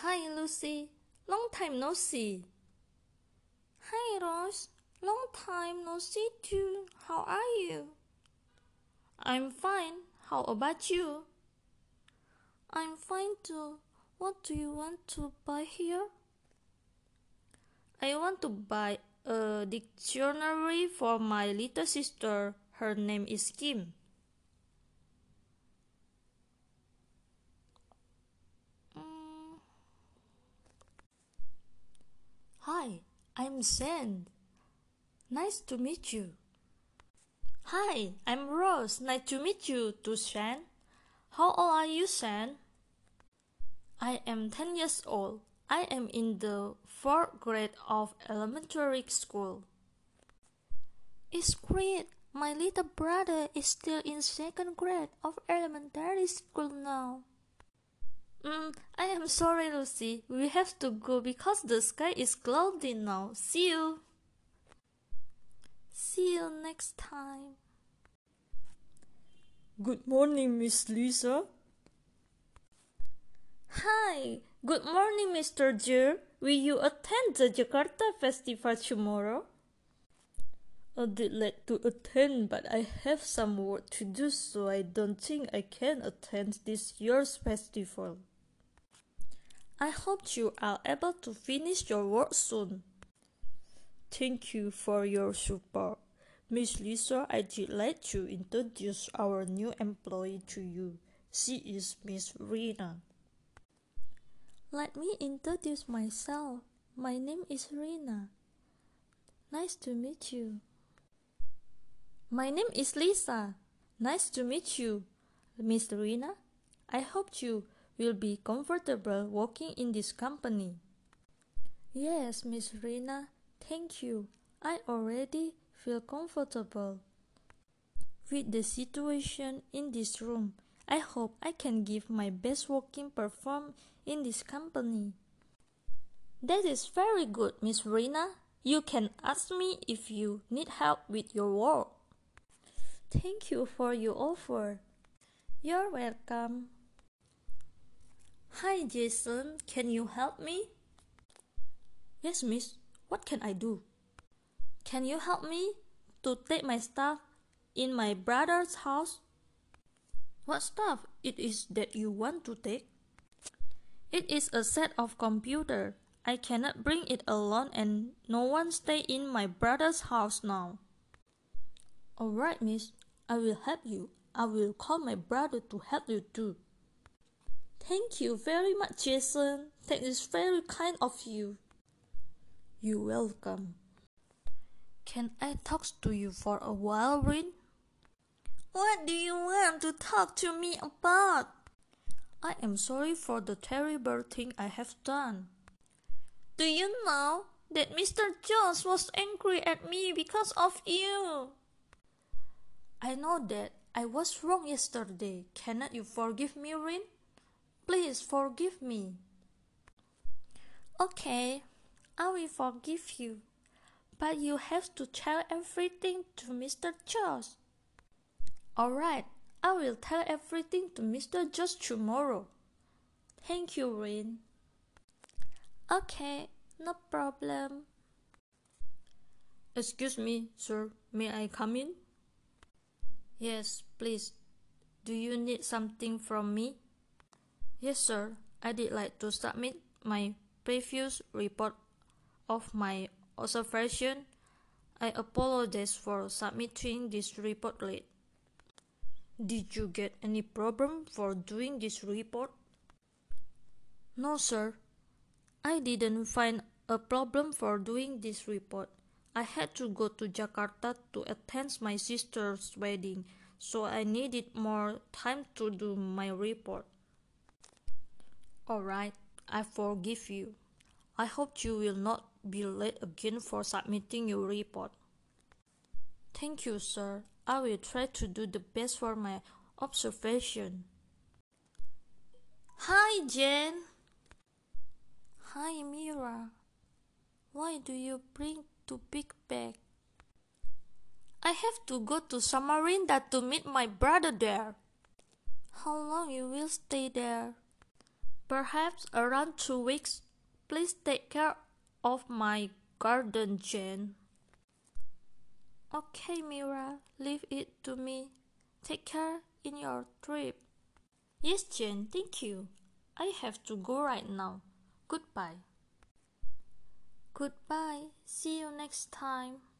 Hi Lucy, long time no see. Hi Rose, long time no see too. How are you? I'm fine. How about you? I'm fine too. What do you want to buy here? I want to buy a dictionary for my little sister. Her name is Kim. Hi, I'm Zen. Nice to meet you. Hi, I'm Rose. Nice to meet you too, Shan. How old are you, Shan? I am 10 years old. I am in the 4th grade of elementary school. It's great. My little brother is still in 2nd grade of elementary school now. I am sorry, Lucy. We have to go because the sky is cloudy now. See you. See you next time. Good morning, Miss Lisa. Hi. Good morning, Mr. Jer. Will you attend the Jakarta Festival tomorrow? I'd like to attend, but I have some work to do, so I don't think I can attend this year's festival. I hope you are able to finish your work soon. Thank you for your support. Miss Lisa, I'd like to introduce our new employee to you. She is Miss Rina. Let me introduce myself. My name is Rina. Nice to meet you. My name is Lisa. Nice to meet you, Miss Rina. I hope you will be comfortable working in this company. Yes, Miss Rina. Thank you. I already feel comfortable with the situation in this room. I hope I can give my best working performance in this company. That is very good, Miss Rina. You can ask me if you need help with your work. Thank you for your offer. You're welcome. Hi Jason, can you help me? Yes, miss. What can I do? Can you help me to take my stuff in my brother's house? What stuff it is that you want to take? It is a set of computer. I cannot bring it alone and no one stay in my brother's house now. Alright, miss. I will help you. I will call my brother to help you too. Thank you very much, Jason. That is very kind of you. You're welcome. Can I talk to you for a while, Rin? What do you want to talk to me about? I am sorry for the terrible thing I have done. Do you know that Mr. Jones was angry at me because of you? I know that I was wrong yesterday. Cannot you forgive me, Rin? Please forgive me. Okay, I will forgive you. But you have to tell everything to Mr. Jones. Alright, I will tell everything to Mr. Jones tomorrow. Thank you, Rin. Okay, no problem. Excuse me, sir. May I come in? Yes, please. Do you need something from me? Yes, sir. I'd like to submit my previous report of my observation. I apologize for submitting this report late. Did you get any problem for doing this report? No, sir. I didn't find a problem for doing this report. I had to go to Jakarta to attend my sister's wedding, so I needed more time to do my report. Alright, I forgive you. I hope you will not be late again for submitting your report. Thank you, sir. I will try to do the best for my observation. Hi, Jen. Hi, Mira. Why do you bring two big bag? I have to go to Samarinda to meet my brother there. How long you will stay there? Perhaps around 2 weeks. Please take care of my garden, Jane. Okay, Mira, leave it to me. Take care in your trip. Yes, Jane, thank you. I have to go right now. Goodbye. Goodbye. See you next time.